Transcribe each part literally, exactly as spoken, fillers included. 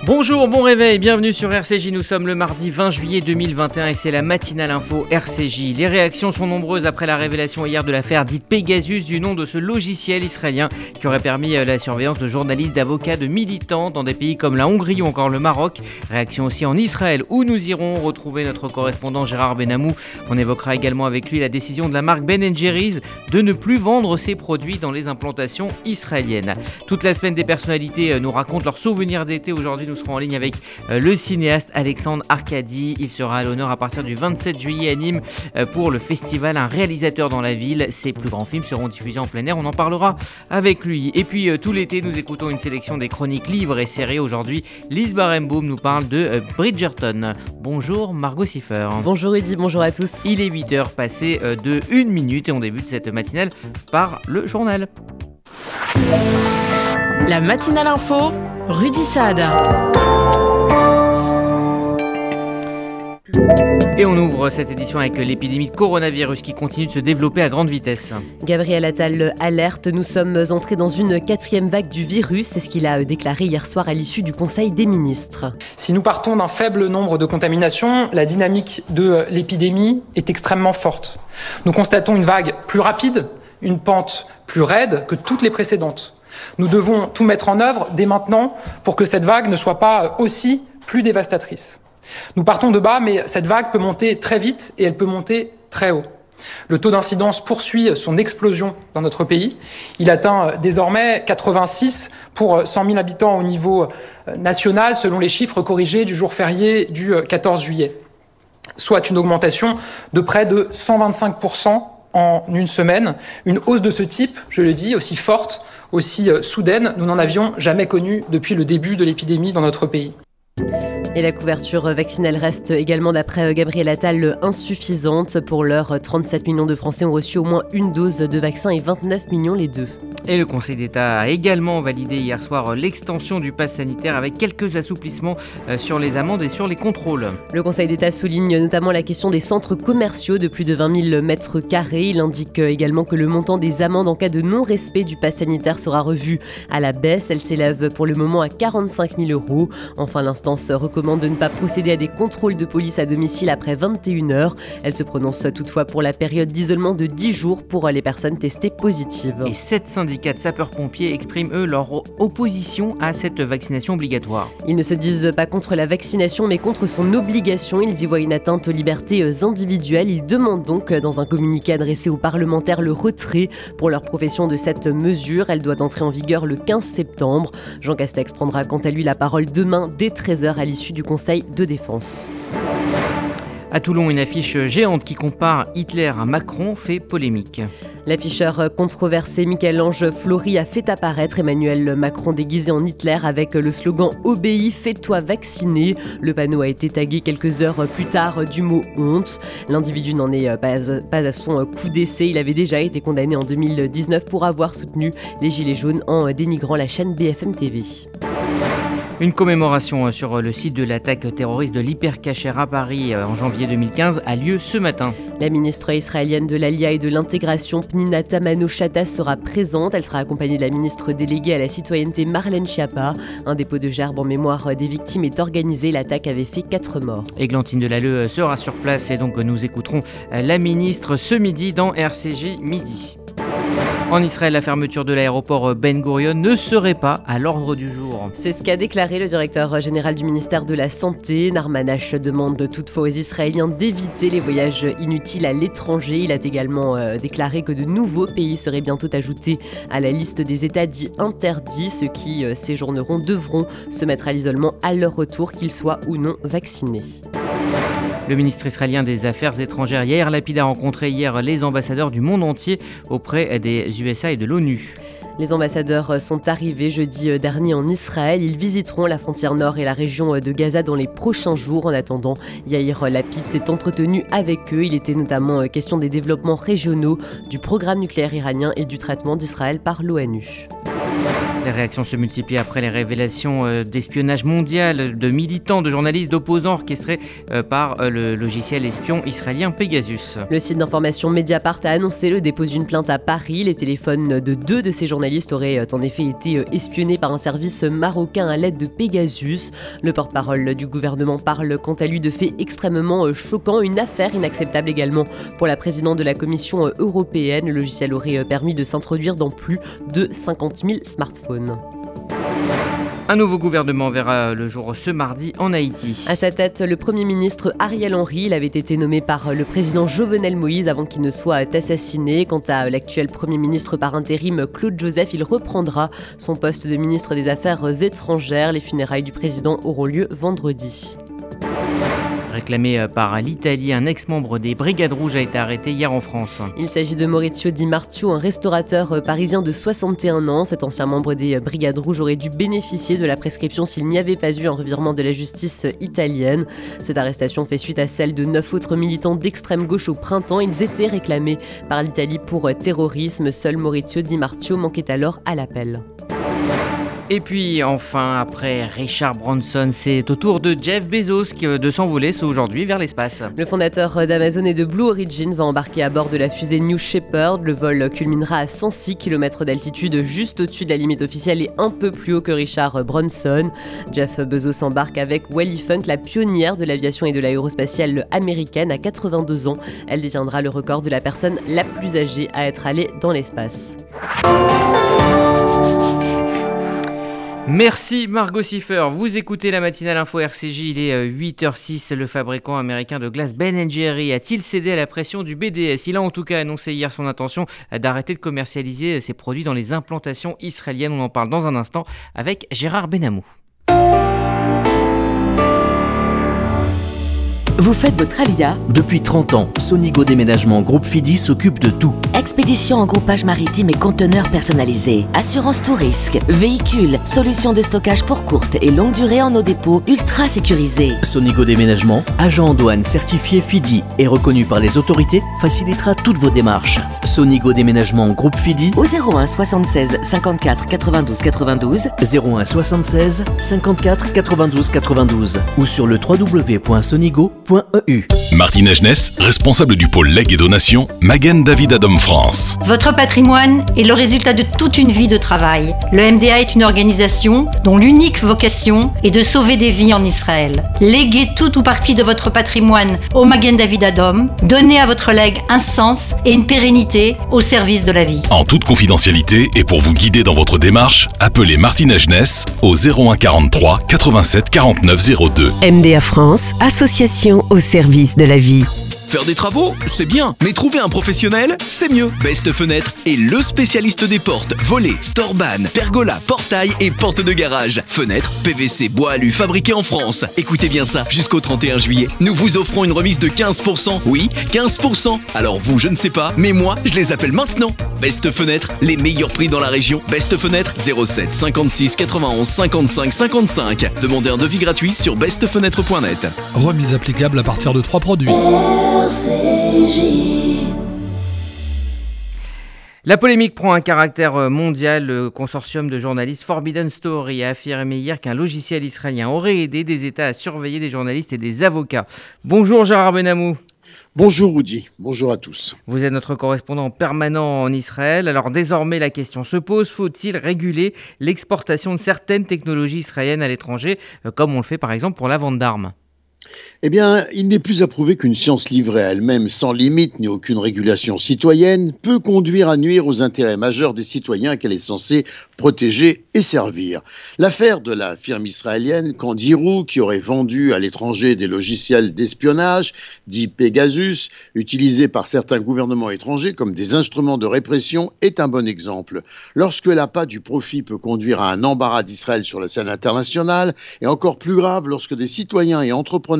Bonjour, bon réveil, bienvenue sur R C J, nous sommes le mardi vingt juillet deux mille vingt et un et c'est la matinale info R C J. Les réactions sont nombreuses après la révélation hier de l'affaire dite Pegasus, du nom de ce logiciel israélien qui aurait permis la surveillance de journalistes, d'avocats, de militants dans des pays comme la Hongrie ou encore le Maroc. Réaction aussi en Israël où nous irons retrouver notre correspondant Gérard Benamou. On évoquera également avec lui la décision de la marque Ben and Jerry's de ne plus vendre ses produits dans les implantations israéliennes. Toute la semaine, des personnalités nous racontent leurs souvenirs d'été. Aujourd'hui, nous serons en ligne avec le cinéaste Alexandre Arcadi. Il sera à l'honneur à partir du vingt-sept juillet à Nîmes pour le festival Un réalisateur dans la ville. Ses plus grands films seront diffusés en plein air, on en parlera avec lui. Et puis tout l'été, nous écoutons une sélection des chroniques livres et séries. Aujourd'hui, Lise Barenboim nous parle de Bridgerton. Bonjour Margot Siffer. Bonjour Rudy, bonjour à tous. Il est huit heures passées de une minute et on débute cette matinale par le journal. La matinale info, Rudy Saad. Et on ouvre cette édition avec l'épidémie de coronavirus qui continue de se développer à grande vitesse. Gabriel Attal alerte, nous sommes entrés dans une quatrième vague du virus, c'est ce qu'il a déclaré hier soir à l'issue du Conseil des ministres. Si nous partons d'un faible nombre de contaminations, la dynamique de l'épidémie est extrêmement forte. Nous constatons une vague plus rapide, une pente plus raide que toutes les précédentes. Nous devons tout mettre en œuvre dès maintenant pour que cette vague ne soit pas aussi plus dévastatrice. Nous partons de bas, mais cette vague peut monter très vite et elle peut monter très haut. Le taux d'incidence poursuit son explosion dans notre pays. Il atteint désormais quatre-vingt-six pour cent mille habitants au niveau national, selon les chiffres corrigés du jour férié du quatorze juillet, soit une augmentation de près de cent vingt-cinq pour cent en une semaine. Une hausse de ce type, je le dis, aussi forte, aussi soudaine, nous n'en avions jamais connu depuis le début de l'épidémie dans notre pays. Et la couverture vaccinale reste également, d'après Gabriel Attal, insuffisante. Pour l'heure, trente-sept millions de Français ont reçu au moins une dose de vaccin et vingt-neuf millions les deux. Et le Conseil d'État a également validé hier soir l'extension du pass sanitaire avec quelques assouplissements sur les amendes et sur les contrôles. Le Conseil d'État souligne notamment la question des centres commerciaux de plus de vingt mille mètres carrés. Il indique également que le montant des amendes en cas de non-respect du pass sanitaire sera revu à la baisse. Elle s'élève pour le moment à quarante-cinq mille euros. Enfin, l'instance recommande de ne pas procéder à des contrôles de police à domicile après vingt et une heures. Elle se prononce toutefois pour la période d'isolement de dix jours pour les personnes testées positives. Et sept syndicats de sapeurs-pompiers expriment eux leur opposition à cette vaccination obligatoire. Ils ne se disent pas contre la vaccination mais contre son obligation. Ils y voient une atteinte aux libertés individuelles. Ils demandent donc dans un communiqué adressé aux parlementaires le retrait pour leur profession de cette mesure. Elle doit entrer en vigueur le quinze septembre. Jean Castex prendra quant à lui la parole demain dès treize heures à l'issue du Conseil de défense. À Toulon, une affiche géante qui compare Hitler à Macron fait polémique. L'afficheur controversé Michel-Ange Flory a fait apparaître Emmanuel Macron déguisé en Hitler avec le slogan « Obéis, fais-toi vacciner ». Le panneau a été tagué quelques heures plus tard du mot « honte ». L'individu n'en est pas, pas à son coup d'essai. Il avait déjà été condamné en deux mille dix-neuf pour avoir soutenu les Gilets jaunes en dénigrant la chaîne B F M T V. Une commémoration sur le site de l'attaque terroriste de l'Hypercacher à Paris en janvier deux mille quinze a lieu ce matin. La ministre israélienne de l'Alia et de l'Intégration, Pnina Tamano-Chata, sera présente. Elle sera accompagnée de la ministre déléguée à la citoyenneté, Marlène Schiappa. Un dépôt de gerbes en mémoire des victimes est organisé. L'attaque avait fait quatre morts. Églantine Delalleux sera sur place et donc nous écouterons la ministre ce midi dans R C J Midi. En Israël, la fermeture de l'aéroport Ben Gurion ne serait pas à l'ordre du jour. C'est ce qu'a déclaré le directeur général du ministère de la Santé. Narman H demande toutefois aux Israéliens d'éviter les voyages inutiles à l'étranger. Il a également euh, déclaré que de nouveaux pays seraient bientôt ajoutés à la liste des États dits interdits. Ceux qui euh, séjourneront devront se mettre à l'isolement à leur retour, qu'ils soient ou non vaccinés. Le ministre israélien des Affaires étrangères Yair Lapid a rencontré hier les ambassadeurs du monde entier auprès des U S A et de l'ONU. Les ambassadeurs sont arrivés jeudi dernier en Israël. Ils visiteront la frontière nord et la région de Gaza dans les prochains jours. En attendant, Yair Lapid s'est entretenu avec eux. Il était notamment question des développements régionaux, du programme nucléaire iranien et du traitement d'Israël par l'ONU. Les réactions se multiplient après les révélations d'espionnage mondial de militants, de journalistes, d'opposants orchestrés par le logiciel espion israélien Pegasus. Le site d'information Mediapart a annoncé le dépôt d'une plainte à Paris. Les téléphones de deux de ces journalistes auraient en effet été espionnés par un service marocain à l'aide de Pegasus. Le porte-parole du gouvernement parle quant à lui de faits extrêmement choquants. Une affaire inacceptable également pour la présidente de la Commission européenne. Le logiciel aurait permis de s'introduire dans plus de cinquante mille smartphones. Un nouveau gouvernement verra le jour ce mardi en Haïti. À sa tête, le Premier ministre Ariel Henry. Il avait été nommé par le président Jovenel Moïse avant qu'il ne soit assassiné. Quant à l'actuel Premier ministre par intérim Claude Joseph, il reprendra son poste de ministre des Affaires étrangères. Les funérailles du président auront lieu vendredi. Réclamé par l'Italie, un ex-membre des Brigades Rouges a été arrêté hier en France. Il s'agit de Maurizio Di Martio, un restaurateur parisien de soixante et un ans. Cet ancien membre des Brigades Rouges aurait dû bénéficier de la prescription s'il n'y avait pas eu un revirement de la justice italienne. Cette arrestation fait suite à celle de neuf autres militants d'extrême gauche au printemps. Ils étaient réclamés par l'Italie pour terrorisme. Seul Maurizio Di Martio manquait alors à l'appel. Et puis enfin, après Richard Branson, c'est au tour de Jeff Bezos de s'envoler aujourd'hui vers l'espace. Le fondateur d'Amazon et de Blue Origin va embarquer à bord de la fusée New Shepard. Le vol culminera à cent six kilomètres d'altitude, juste au-dessus de la limite officielle et un peu plus haut que Richard Branson. Jeff Bezos embarque avec Wally Funk, la pionnière de l'aviation et de l'aérospatiale américaine. À quatre-vingt-deux ans, elle détiendra le record de la personne la plus âgée à être allée dans l'espace. Merci Margot Siffer. Vous écoutez la matinale info R C J, il est huit heures six. Le fabricant américain de glace Ben and Jerry a-t-il cédé à la pression du B D S ? Il a en tout cas annoncé hier son intention d'arrêter de commercialiser ses produits dans les implantations israéliennes. On en parle dans un instant avec Gérard Benamou. Vous faites votre alia ? Depuis trente ans, Sonigo Déménagement Groupe Fidi s'occupe de tout. Expédition en groupage maritime et conteneurs personnalisés, assurance tout risque, véhicules, solutions de stockage pour courte et longue durée en nos dépôts ultra sécurisés. Sonigo Déménagement, agent en douane certifié Fidi et reconnu par les autorités, facilitera toutes vos démarches. Sonigo Déménagement Groupe Fidi au zéro un soixante-seize cinquante-quatre quatre-vingt-douze quatre-vingt-douze, zéro un soixante-seize cinquante-quatre quatre-vingt-douze quatre-vingt-douze ou sur le w w w point sonigo point e u. Martine Agenès, responsable du pôle legs et donations, Magen David Adom France. Votre patrimoine est le résultat de toute une vie de travail. Le M D A est une organisation dont l'unique vocation est de sauver des vies en Israël. Léguez tout ou partie de votre patrimoine au Magen David Adom. Donnez à votre legs un sens et une pérennité au service de la vie. En toute confidentialité et pour vous guider dans votre démarche, appelez Martine Agenès au zéro un quarante-trois quatre-vingt-sept quarante-neuf zéro deux. M D A France, association au service de la vie. Faire des travaux, c'est bien, mais trouver un professionnel, c'est mieux. Best Fenêtre est le spécialiste des portes, volets, storban, pergola, portail et portes de garage. Fenêtres, P V C, bois alu, fabriqués en France. Écoutez bien ça, jusqu'au trente et un juillet, nous vous offrons une remise de quinze pour cent. Oui, quinze pour cent. Alors vous, je ne sais pas, mais moi, je les appelle maintenant. Best Fenêtre, les meilleurs prix dans la région. Best Fenêtre, zéro sept cinquante-six quatre-vingt-onze cinquante-cinq cinquante-cinq. Demandez un devis gratuit sur best fenêtre point net. Remise applicable à partir de trois produits. R C J. La polémique prend un caractère mondial. Le consortium de journalistes Forbidden Story a affirmé hier qu'un logiciel israélien aurait aidé des États à surveiller des journalistes et des avocats. Bonjour Gérard Benamou. Bonjour Rudy, bonjour à tous. Vous êtes notre correspondant permanent en Israël. Alors désormais la question se pose, faut-il réguler l'exportation de certaines technologies israéliennes à l'étranger, comme on le fait par exemple pour la vente d'armes ? Eh bien, il n'est plus à prouver qu'une science livrée à elle-même, sans limite ni aucune régulation citoyenne, peut conduire à nuire aux intérêts majeurs des citoyens qu'elle est censée protéger et servir. L'affaire de la firme israélienne Candiru, qui aurait vendu à l'étranger des logiciels d'espionnage, dits Pegasus, utilisés par certains gouvernements étrangers comme des instruments de répression, est un bon exemple. Lorsque l'appât du profit peut conduire à un embarras d'Israël sur la scène internationale, et encore plus grave lorsque des citoyens et entrepreneurs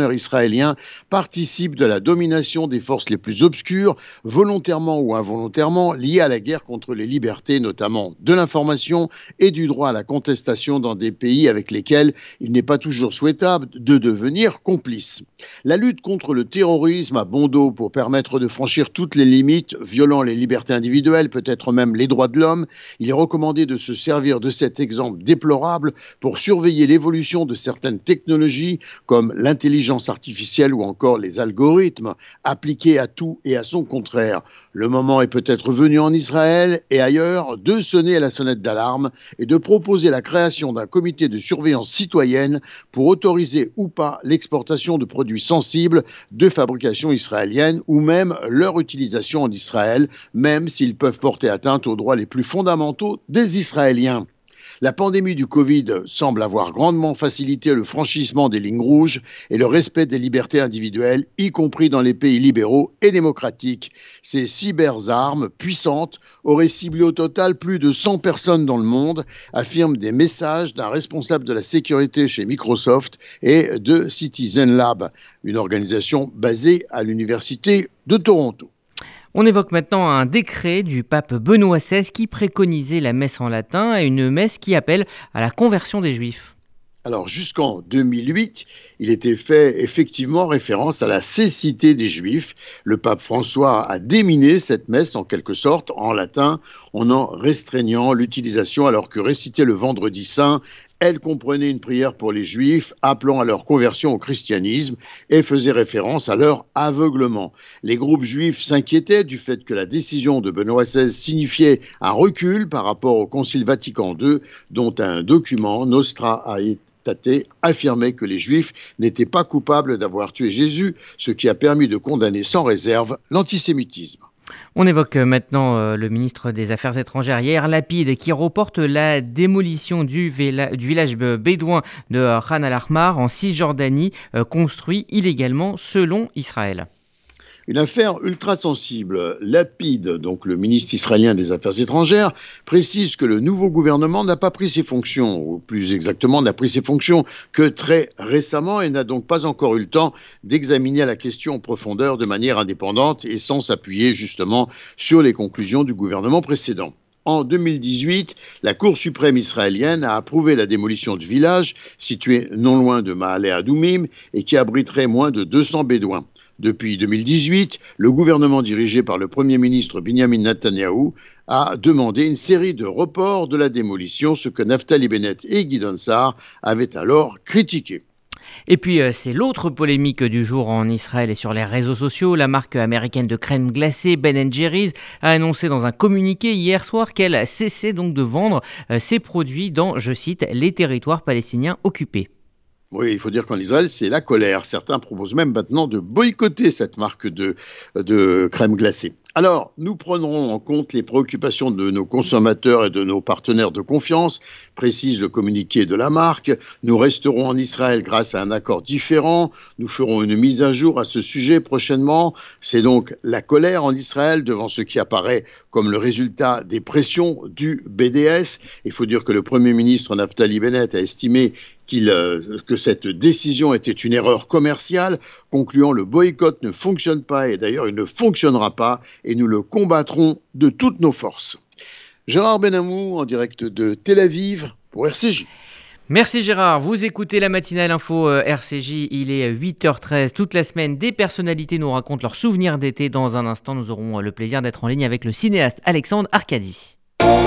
fonctionnaires israéliens participent de la domination des forces les plus obscures, volontairement ou involontairement, liées à la guerre contre les libertés, notamment de l'information et du droit à la contestation dans des pays avec lesquels il n'est pas toujours souhaitable de devenir complice. La lutte contre le terrorisme a bon dos pour permettre de franchir toutes les limites, violant les libertés individuelles, peut-être même les droits de l'homme. Il est recommandé de se servir de cet exemple déplorable pour surveiller l'évolution de certaines technologies comme l'intelligence artificielle ou encore les algorithmes appliqués à tout et à son contraire. Le moment est peut-être venu en Israël et ailleurs de sonner à la sonnette d'alarme et de proposer la création d'un comité de surveillance citoyenne pour autoriser ou pas l'exportation de produits sensibles de fabrication israélienne ou même leur utilisation en Israël, même s'ils peuvent porter atteinte aux droits les plus fondamentaux des Israéliens. La pandémie du Covid semble avoir grandement facilité le franchissement des lignes rouges et le respect des libertés individuelles, y compris dans les pays libéraux et démocratiques. Ces cyberarmes puissantes auraient ciblé au total plus de cent personnes dans le monde, affirment des messages d'un responsable de la sécurité chez Microsoft et de Citizen Lab, une organisation basée à l'université de Toronto. On évoque maintenant un décret du pape Benoît seize qui préconisait la messe en latin et une messe qui appelle à la conversion des Juifs. Alors jusqu'en deux mille huit, il était fait effectivement référence à la cécité des Juifs. Le pape François a déminé cette messe en quelque sorte en latin en en restreignant l'utilisation alors que réciter le vendredi saint, elle comprenait une prière pour les Juifs appelant à leur conversion au christianisme et faisait référence à leur aveuglement. Les groupes juifs s'inquiétaient du fait que la décision de Benoît seize signifiait un recul par rapport au Concile Vatican deux, dont un document, Nostra Aetate, affirmait que les Juifs n'étaient pas coupables d'avoir tué Jésus, ce qui a permis de condamner sans réserve l'antisémitisme. On évoque maintenant euh, le ministre des Affaires étrangères, Yair Lapid, qui reporte la démolition du, véla- du village bédouin de euh, Khan al-Ahmar en Cisjordanie, euh, construit illégalement selon Israël. Une affaire ultra sensible. Lapid, donc le ministre israélien des Affaires étrangères, précise que le nouveau gouvernement n'a pas pris ses fonctions, ou plus exactement n'a pris ses fonctions que très récemment et n'a donc pas encore eu le temps d'examiner la question en profondeur de manière indépendante et sans s'appuyer justement sur les conclusions du gouvernement précédent. En deux mille dix-huit, la Cour suprême israélienne a approuvé la démolition du village, situé non loin de Maale Adoumim et qui abriterait moins de deux cents bédouins. Depuis deux mille dix-huit, le gouvernement dirigé par le Premier ministre Binyamin Netanyahou a demandé une série de reports de la démolition, ce que Naftali Bennett et Gideon Sa'ar avaient alors critiqué. Et puis, euh, c'est l'autre polémique du jour en Israël et sur les réseaux sociaux. La marque américaine de crème glacée Ben and Jerry's a annoncé dans un communiqué hier soir qu'elle cessait donc de vendre euh, ses produits dans, je cite, les territoires palestiniens occupés. Oui, il faut dire qu'en Israël, c'est la colère. Certains proposent même maintenant de boycotter cette marque de, de crème glacée. Alors, nous prendrons en compte les préoccupations de nos consommateurs et de nos partenaires de confiance, précise le communiqué de la marque. Nous resterons en Israël grâce à un accord différent. Nous ferons une mise à jour à ce sujet prochainement. C'est donc la colère en Israël devant ce qui apparaît comme le résultat des pressions du B D S. Il faut dire que le Premier ministre Naftali Bennett a estimé qu'il, euh, que cette décision était une erreur commerciale, concluant le boycott ne fonctionne pas et d'ailleurs il ne fonctionnera pas et nous le combattrons de toutes nos forces. Gérard Benamou en direct de Tel Aviv pour R C J. Merci Gérard, vous écoutez la matinale info euh, R C J, il est huit heures treize. Toute la semaine, des personnalités nous racontent leurs souvenirs d'été. Dans un instant, nous aurons euh, le plaisir d'être en ligne avec le cinéaste Alexandre Arcadi.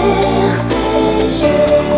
R C J.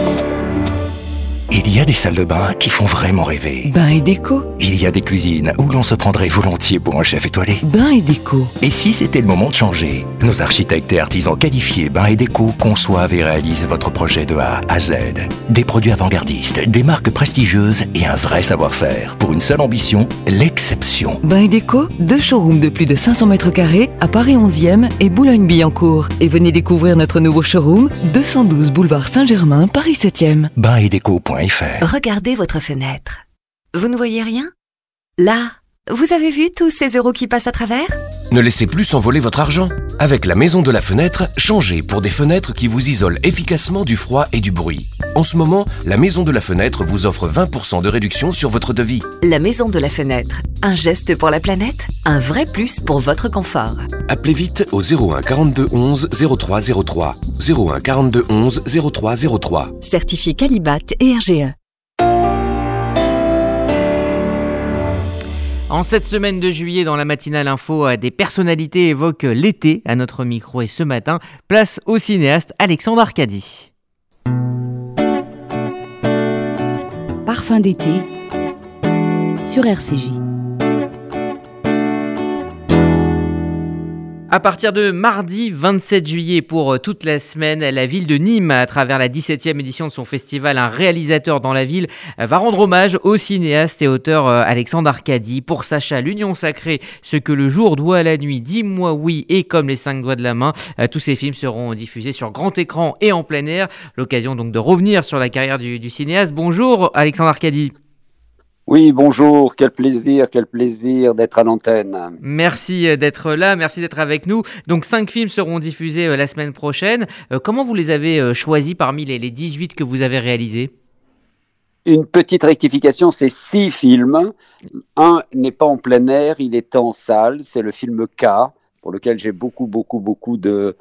Il y a des salles de bain qui font vraiment rêver. Bain et déco. Il y a des cuisines où l'on se prendrait volontiers pour un chef étoilé. Bain et déco. Et si c'était le moment de changer? Nos architectes et artisans qualifiés Bain et déco conçoivent et réalisent votre projet de A à Z. Des produits avant-gardistes, des marques prestigieuses et un vrai savoir-faire. Pour une seule ambition, l'exception. Bain et déco, deux showrooms de plus de cinq cents mètres carrés à Paris onzième et Boulogne-Billancourt. Et venez découvrir notre nouveau showroom, deux cent douze boulevard Saint-Germain, Paris septième. bain et déco point f r. Regardez votre fenêtre. Vous ne voyez rien? Là, vous avez vu tous ces euros qui passent à travers? Ne laissez plus s'envoler votre argent. Avec la Maison de la Fenêtre, changez pour des fenêtres qui vous isolent efficacement du froid et du bruit. En ce moment, la Maison de la Fenêtre vous offre vingt pour cent de réduction sur votre devis. La Maison de la Fenêtre. Un geste pour la planète, un vrai plus pour votre confort. Appelez vite au zéro un quarante-deux onze zéro trois zéro trois. zéro un quarante-deux onze zéro trois zéro trois. Certifié Qualibat et R G E. En cette semaine de juillet, dans la matinale info, des personnalités évoquent l'été à notre micro. Et ce matin, place au cinéaste Alexandre Arcadi. Parfum d'été sur R C J. À partir de mardi vingt-sept juillet pour toute la semaine, la ville de Nîmes, à travers la dix-septième édition de son festival Un réalisateur dans la ville, va rendre hommage au cinéaste et auteur Alexandre Arcadi. Pour Sacha, l'union sacrée, ce que le jour doit à la nuit, dis-moi oui et comme les cinq doigts de la main. Tous ces films seront diffusés sur grand écran et en plein air. L'occasion donc de revenir sur la carrière du, du cinéaste. Bonjour Alexandre Arcadi. Oui, bonjour, quel plaisir, quel plaisir d'être à l'antenne. Merci d'être là, merci d'être avec nous. Donc cinq films seront diffusés la semaine prochaine. Comment vous les avez choisis parmi les, les dix-huit que vous avez réalisés ? Une petite rectification, c'est six films. Un n'est pas en plein air, il est en salle, c'est le film K, pour lequel j'ai beaucoup, beaucoup, beaucoup de...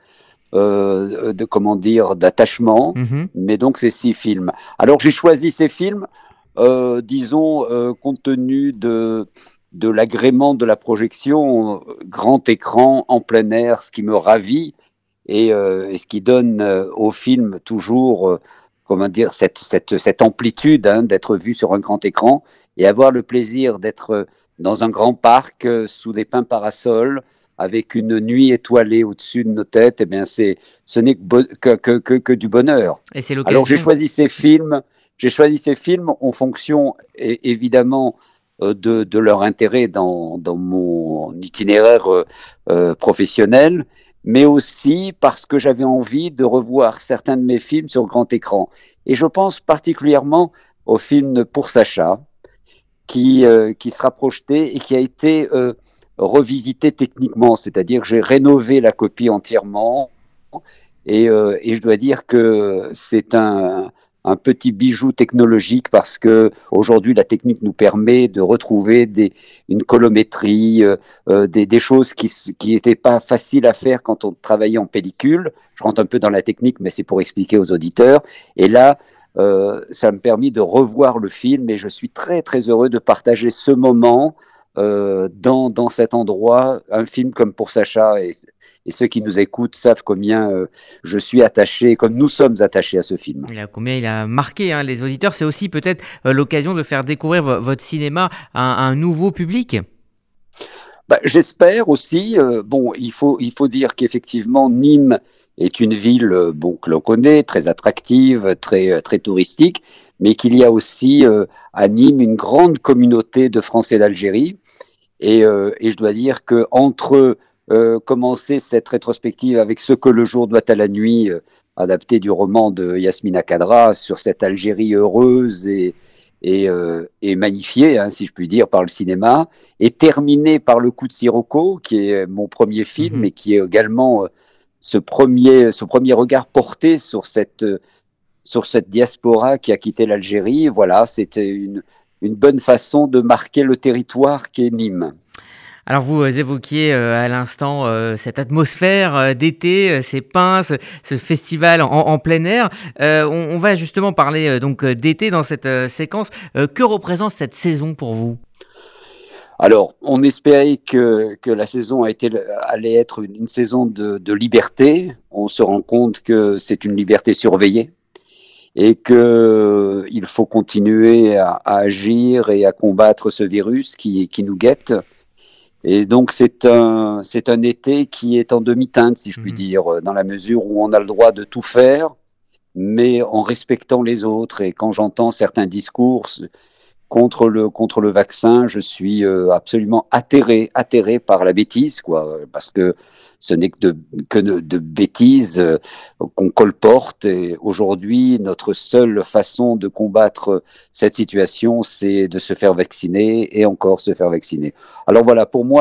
Euh, de comment dire, d'attachement, mm-hmm. Mais donc c'est six films. Alors j'ai choisi ces films Euh, disons, euh, compte tenu de, de l'agrément de la projection, euh, grand écran, en plein air, ce qui me ravit et, euh, et ce qui donne euh, au film toujours, euh, comment dire, cette, cette, cette amplitude hein, d'être vu sur un grand écran et avoir le plaisir d'être dans un grand parc euh, sous des pins parasols avec une nuit étoilée au-dessus de nos têtes. Eh bien, c'est, ce n'est que, que, que, que du bonheur. Et c'est l'occasion. Alors, j'ai choisi ces films. J'ai choisi ces films en fonction, évidemment, euh, de, de leur intérêt dans, dans mon itinéraire euh, euh, professionnel, mais aussi parce que j'avais envie de revoir certains de mes films sur grand écran. Et je pense particulièrement au film Pour Sacha, qui, euh, qui sera projeté et qui a été euh, revisité techniquement, c'est-à-dire que j'ai rénové la copie entièrement, et, euh, et je dois dire que c'est un... un petit bijou technologique parce que aujourd'hui la technique nous permet de retrouver des, une colométrie, euh, des, des choses qui qui n'étaient pas faciles à faire quand on travaillait en pellicule. Je rentre un peu dans la technique, mais c'est pour expliquer aux auditeurs. Et là, euh, ça m'a permis de revoir le film et je suis très très heureux de partager ce moment euh, dans dans cet endroit, un film comme Pour Sacha. Et, Et ceux qui nous écoutent savent combien euh, je suis attaché, comme nous sommes attachés à ce film. Il a, combien il a marqué hein, les auditeurs. C'est aussi peut-être euh, l'occasion de faire découvrir v- votre cinéma à un, à un nouveau public. Bah, j'espère aussi. Euh, bon, il faut, il faut dire qu'effectivement, Nîmes est une ville euh, bon, que l'on connaît, très attractive, très, très touristique, mais qu'il y a aussi euh, à Nîmes une grande communauté de Français d'Algérie. Et, euh, et je dois dire qu'entre Euh, commencer cette rétrospective avec Ce que le jour doit à la nuit, euh, adapté du roman de Yasmina Khadra sur cette Algérie heureuse et, et, euh, et magnifiée, hein, si je puis dire, par le cinéma, et terminé par Le coup de Sirocco, qui est mon premier film mmh. et qui est également euh, ce, premier, ce premier regard porté sur cette, euh, sur cette diaspora qui a quitté l'Algérie. Voilà, c'était une, une bonne façon de marquer le territoire qu'est Nîmes. Alors vous évoquiez euh, à l'instant euh, cette atmosphère euh, d'été, euh, ces pins, ce, ce festival en, en plein air. Euh, on, on va justement parler euh, donc d'été dans cette euh, séquence. Euh, que représente cette saison pour vous ? Alors, on espérait que, que la saison a été, allait être une, une saison de, de liberté. On se rend compte que c'est une liberté surveillée et qu'il faut continuer à, à agir et à combattre ce virus qui, qui nous guette. Et donc c'est un c'est un été qui est en demi-teinte, si je puis mmh. dire, dans la mesure où on a le droit de tout faire, mais en respectant les autres. Et quand j'entends certains discours contre le contre le vaccin, je suis euh, absolument atterré atterré par la bêtise, quoi, parce que ce n'est que de que de, de bêtises euh, qu'on colporte. Et aujourd'hui, notre seule façon de combattre cette situation, c'est de se faire vacciner et encore se faire vacciner. Alors voilà, pour moi,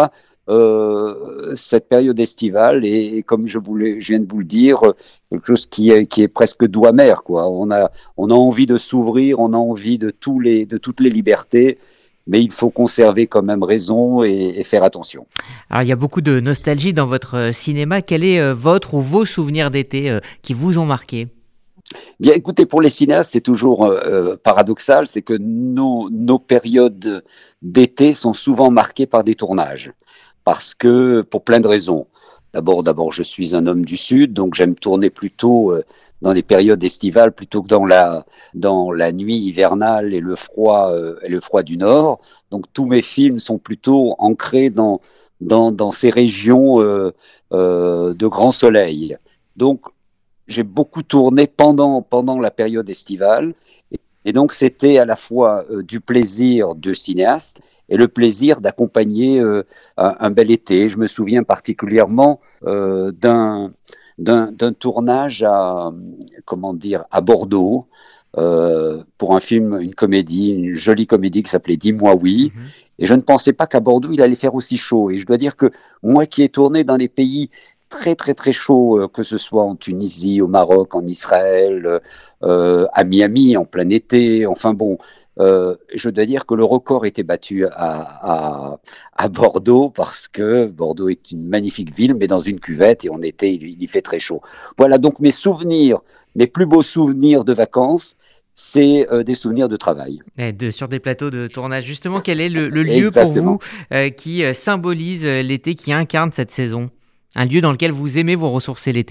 euh, cette période estivale est, comme je, voulais, je viens de vous le dire, quelque chose qui est, qui est presque doux amer, quoi. On a, on a envie de s'ouvrir, on a envie de, tous les, de toutes les libertés, mais il faut conserver quand même raison et, et faire attention. Alors il y a beaucoup de nostalgie dans votre cinéma. Quel est euh, votre ou vos souvenirs d'été euh, qui vous ont marqué ? Bien, écoutez, pour les cinéastes, c'est toujours euh, paradoxal, c'est que nos, nos périodes d'été sont souvent marquées par des tournages, parce que pour plein de raisons. D'abord, d'abord, je suis un homme du Sud, donc j'aime tourner plutôt euh, dans les périodes estivales plutôt que dans la dans la nuit hivernale et le froid euh, et le froid du Nord. Donc tous mes films sont plutôt ancrés dans dans dans ces régions euh, euh, de grand soleil. Donc j'ai beaucoup tourné pendant pendant la période estivale et, et donc c'était à la fois euh, du plaisir de cinéaste et le plaisir d'accompagner euh, un, un bel été. Je me souviens particulièrement euh, d'un, d'un d'un tournage à comment dire à Bordeaux euh, pour un film, une comédie, une jolie comédie qui s'appelait Dis-moi oui. Mmh. Et je ne pensais pas qu'à Bordeaux il allait faire aussi chaud. Et je dois dire que moi qui ai tourné dans des pays très très très chaud, euh, que ce soit en Tunisie, au Maroc, en Israël, euh, à Miami en plein été, enfin bon, euh, je dois dire que le record était battu à, à, à Bordeaux parce que Bordeaux est une magnifique ville, mais dans une cuvette et en été il, il y fait très chaud. Voilà, donc mes souvenirs, mes plus beaux souvenirs de vacances, c'est euh, des souvenirs de travail. Et de, sur des plateaux de tournage. Justement, quel est le, le lieu Exactement. pour vous euh, qui euh, symbolise euh, l'été, qui incarne cette saison ? Un lieu dans lequel vous aimez vous ressourcer l'été ?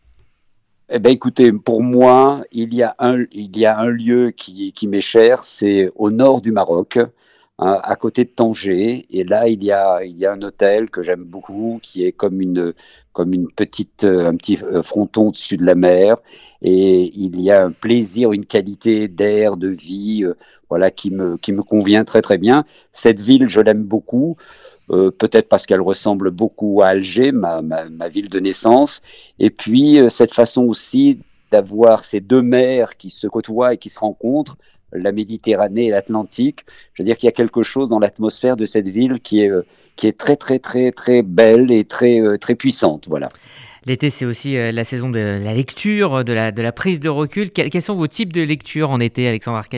Eh ben, écoutez, pour moi, il y a un, il y a un lieu qui, qui m'est cher, c'est au nord du Maroc, hein, à côté de Tanger. Et là, il y a, il y a un hôtel que j'aime beaucoup, qui est comme une, comme une petite, un petit fronton au-dessus de la mer. Et il y a un plaisir, une qualité d'air, de vie, euh, voilà, qui me, qui me convient très très bien. Cette ville, je l'aime beaucoup. Euh, peut-être parce qu'elle ressemble beaucoup à Alger, ma, ma, ma ville de naissance, et puis euh, cette façon aussi d'avoir ces deux mers qui se côtoient et qui se rencontrent, la Méditerranée et l'Atlantique. Je veux dire qu'il y a quelque chose dans l'atmosphère de cette ville qui est, euh, qui est très très très très belle et très, euh, très puissante, voilà. L'été, c'est aussi euh, la saison de la lecture, de la, de la prise de recul. Quels, quels sont vos types de lecture en été, Alexandre Arcadi ?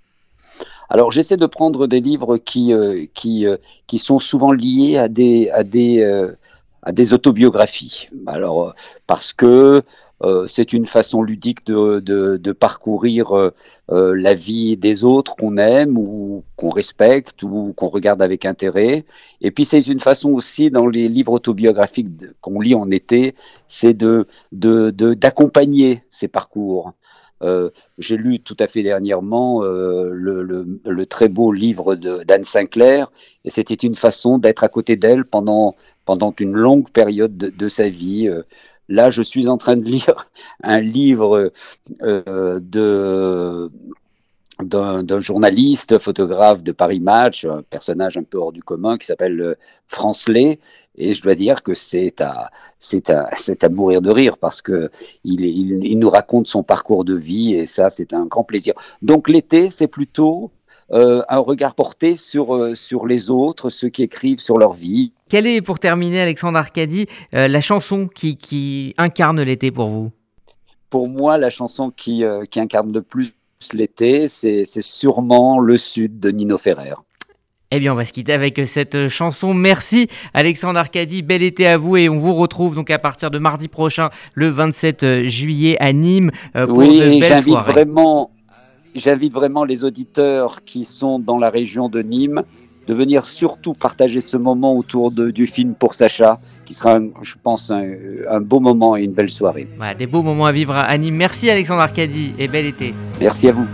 Alors, j'essaie de prendre des livres qui euh, qui euh, qui sont souvent liés à des à des euh, à des autobiographies. Alors, parce que euh, c'est une façon ludique de de, de parcourir euh, euh, la vie des autres qu'on aime ou qu'on respecte ou qu'on regarde avec intérêt. Et puis, c'est une façon aussi dans les livres autobiographiques de, qu'on lit en été, c'est de de de d'accompagner ces parcours. Euh, j'ai lu tout à fait dernièrement euh, le, le, le très beau livre de, d'Anne Sinclair et c'était une façon d'être à côté d'elle pendant, pendant une longue période de, de sa vie. Euh, là, je suis en train de lire un livre euh, de, d'un, d'un journaliste, photographe de Paris Match, un personnage un peu hors du commun qui s'appelle Francelet. Et je dois dire que c'est à, c'est à, c'est à mourir de rire parce que il, il, il nous raconte son parcours de vie et ça, c'est un grand plaisir. Donc l'été, c'est plutôt euh, un regard porté sur, euh, sur les autres, ceux qui écrivent sur leur vie. Quelle est, pour terminer, Alexandre Arcadi, euh, la chanson qui, qui incarne l'été pour vous ? Pour moi, la chanson qui, euh, qui incarne le plus l'été, c'est, c'est sûrement Le Sud de Nino Ferrer. Eh bien, on va se quitter avec cette chanson. Merci Alexandre Arcadi, bel été à vous et on vous retrouve donc à partir de mardi prochain, le vingt-sept juillet à Nîmes pour oui, de belles j'invite soirées. Vraiment, j'invite vraiment les auditeurs qui sont dans la région de Nîmes de venir surtout partager ce moment autour de, du film Pour Sacha, qui sera, je pense, un, un beau moment et une belle soirée. Voilà, des beaux moments à vivre à Nîmes. Merci Alexandre Arcadi et bel été. Merci à vous.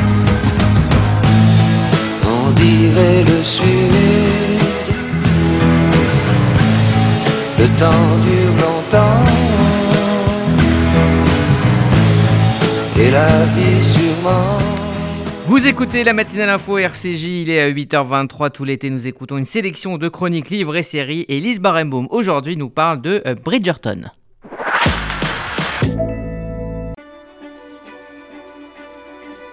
On dirait le Sud, le temps dure longtemps, et la vie sûrement. Vous écoutez la matinale info R C J, il est à huit heures vingt-trois, tout l'été nous écoutons une sélection de chroniques, livres et séries, et Lise Barenbaum aujourd'hui nous parle de Bridgerton.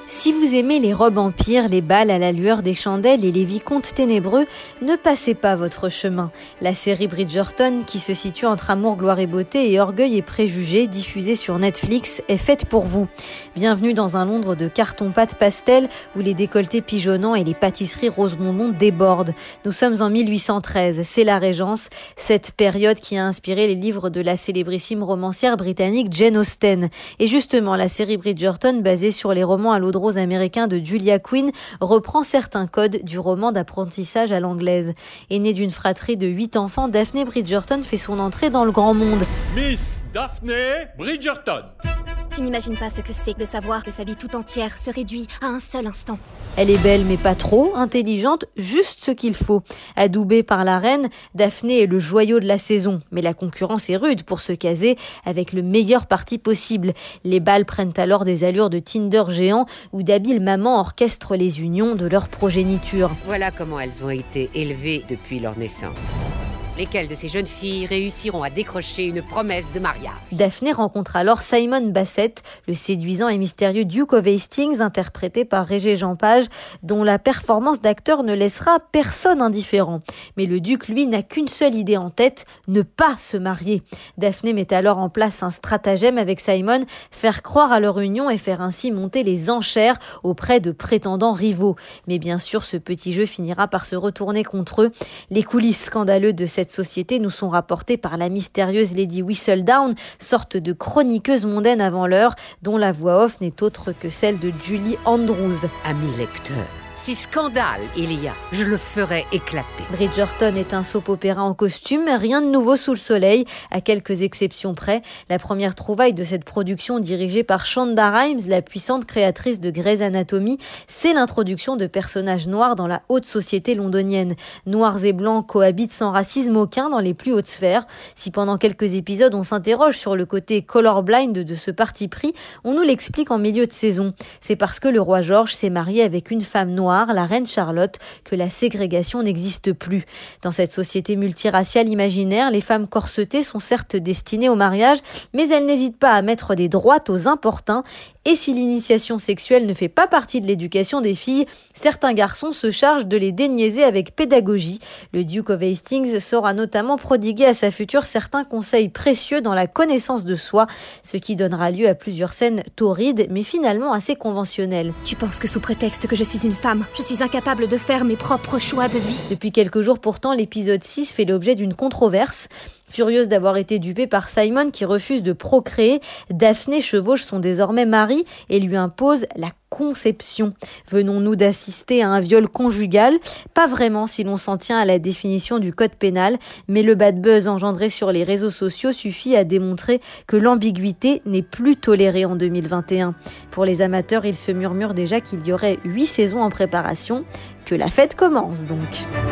Si vous aimez les robes empires, les bals à la lueur des chandelles et les vicomtes ténébreux, ne passez pas votre chemin. La série Bridgerton, qui se situe entre amour, gloire et beauté et orgueil et préjugés, diffusée sur Netflix, est faite pour vous. Bienvenue dans un Londres de carton-pâte pastel où les décolletés pigeonnants et les pâtisseries rose bonbon débordent. Nous sommes en mille huit cent treize, c'est la Régence, cette période qui a inspiré les livres de la célébrissime romancière britannique Jane Austen. Et justement, la série Bridgerton, basée sur les romans à l'eau de rose américain de Julia Quinn, reprend certains codes du roman d'apprentissage à l'anglaise. Aînée d'une fratrie de huit enfants, Daphne Bridgerton fait son entrée dans le grand monde. Miss Daphne Bridgerton. Tu n'imagines pas ce que c'est de savoir que sa vie tout entière se réduit à un seul instant. Elle est belle mais pas trop, intelligente, juste ce qu'il faut. Adoubée par la reine, Daphne est le joyau de la saison. Mais la concurrence est rude pour se caser avec le meilleur parti possible. Les bals prennent alors des allures de Tinder géant où d'habiles mamans orchestrent les unions de leur progéniture. Voilà comment elles ont été élevées depuis leur naissance. Lesquelles de ces jeunes filles réussiront à décrocher une promesse de mariage? Daphne rencontre alors Simon Basset, le séduisant et mystérieux Duke of Hastings, interprété par Régé-Jean Page, dont la performance d'acteur ne laissera personne indifférent. Mais le duc, lui, n'a qu'une seule idée en tête, ne pas se marier. Daphne met alors en place un stratagème avec Simon, faire croire à leur union et faire ainsi monter les enchères auprès de prétendants rivaux. Mais bien sûr, ce petit jeu finira par se retourner contre eux. Les coulisses scandaleuses de cette société nous sont rapportées par la mystérieuse Lady Whistledown, sorte de chroniqueuse mondaine avant l'heure, dont la voix off n'est autre que celle de Julie Andrews. Ami lecteur, si scandale il y a, je le ferai éclater. Bridgerton est un soap-opéra en costume, rien de nouveau sous le soleil, à quelques exceptions près. La première trouvaille de cette production dirigée par Shonda Rhimes, la puissante créatrice de Grey's Anatomy, c'est l'introduction de personnages noirs dans la haute société londonienne. Noirs et blancs cohabitent sans racisme aucun dans les plus hautes sphères. Si pendant quelques épisodes on s'interroge sur le côté colorblind de ce parti pris, on nous l'explique en milieu de saison. C'est parce que le roi George s'est marié avec une femme noire, la reine Charlotte, que la ségrégation n'existe plus. Dans cette société multiraciale imaginaire, les femmes corsetées sont certes destinées au mariage, mais elles n'hésitent pas à mettre des droites aux importuns. Et si l'initiation sexuelle ne fait pas partie de l'éducation des filles, certains garçons se chargent de les déniaiser avec pédagogie. Le Duke of Hastings saura notamment prodiguer à sa future certains conseils précieux dans la connaissance de soi, ce qui donnera lieu à plusieurs scènes torrides, mais finalement assez conventionnelles. Tu penses que sous prétexte que je suis une femme, je suis incapable de faire mes propres choix de vie? Depuis quelques jours pourtant, l'épisode six fait l'objet d'une controverse. Furieuse d'avoir été dupée par Simon qui refuse de procréer, Daphne chevauche son désormais mari et lui impose la conception. Venons-nous d'assister à un viol conjugal? Pas vraiment si l'on s'en tient à la définition du code pénal, mais le bad buzz engendré sur les réseaux sociaux suffit à démontrer que l'ambiguïté n'est plus tolérée en deux mille vingt et un. Pour les amateurs, il se murmure déjà qu'il y aurait huit saisons en préparation, que la fête commence donc.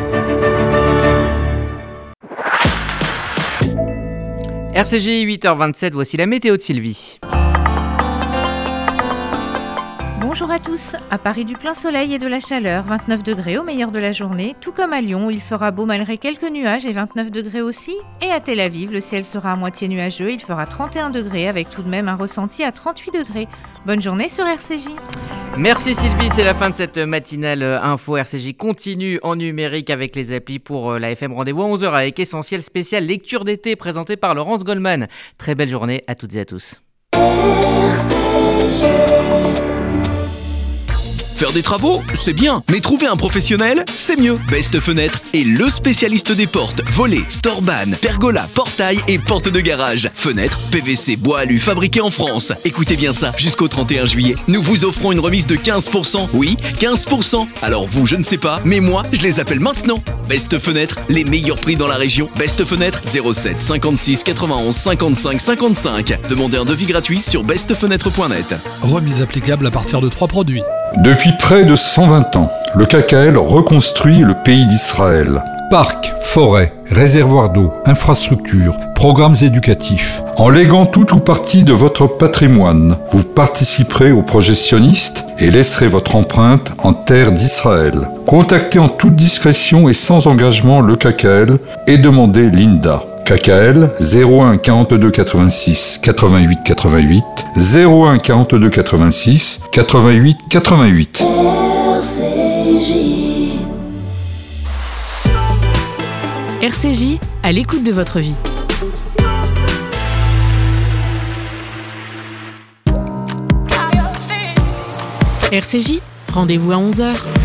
R C J huit heures vingt-sept, voici la météo de Sylvie. Bonjour à tous, à Paris du plein soleil et de la chaleur, vingt-neuf degrés au meilleur de la journée, tout comme à Lyon où il fera beau malgré quelques nuages et vingt-neuf degrés aussi, et à Tel Aviv le ciel sera à moitié nuageux, il fera trente et un degrés avec tout de même un ressenti à trente-huit degrés. Bonne journée sur R C J. Merci Sylvie, c'est la fin de cette matinale info. R C J continue en numérique avec les applis pour la F M. Rendez-vous à onze heures avec Essentiel spécial lecture d'été présenté par Laurence Goldman. Très belle journée à toutes et à tous. R C J. Faire des travaux, c'est bien, mais trouver un professionnel, c'est mieux. Best Fenêtre est le spécialiste des portes, volets, storban, pergola, portail et portes de garage. Fenêtres, P V C, bois alu fabriqués en France. Écoutez bien ça, jusqu'au trente et un juillet, nous vous offrons une remise de quinze pour cent. Oui, quinze pour cent. Alors vous, je ne sais pas, mais moi, je les appelle maintenant. Best Fenêtre, les meilleurs prix dans la région. Best Fenêtre, zéro sept cinquante-six quatre-vingt-onze cinquante-cinq cinquante-cinq. Demandez un devis gratuit sur best fenêtre point net. Remise applicable à partir de trois produits. Depuis près de cent vingt ans, le K K L reconstruit le pays d'Israël. Parcs, forêts, réservoirs d'eau, infrastructures, programmes éducatifs. En léguant tout ou partie de votre patrimoine, vous participerez au projet sioniste et laisserez votre empreinte en terre d'Israël. Contactez en toute discrétion et sans engagement le K K L et demandez l'I N D A. K K L zéro un quarante-deux quatre-vingt-six quatre-vingt-huit quatre-vingt-huit, zéro un quarante-deux quatre-vingt-six quatre-vingt-huit quatre-vingt-huit. R C J. R C J, à l'écoute de votre vie. R C J, rendez-vous à onze heures.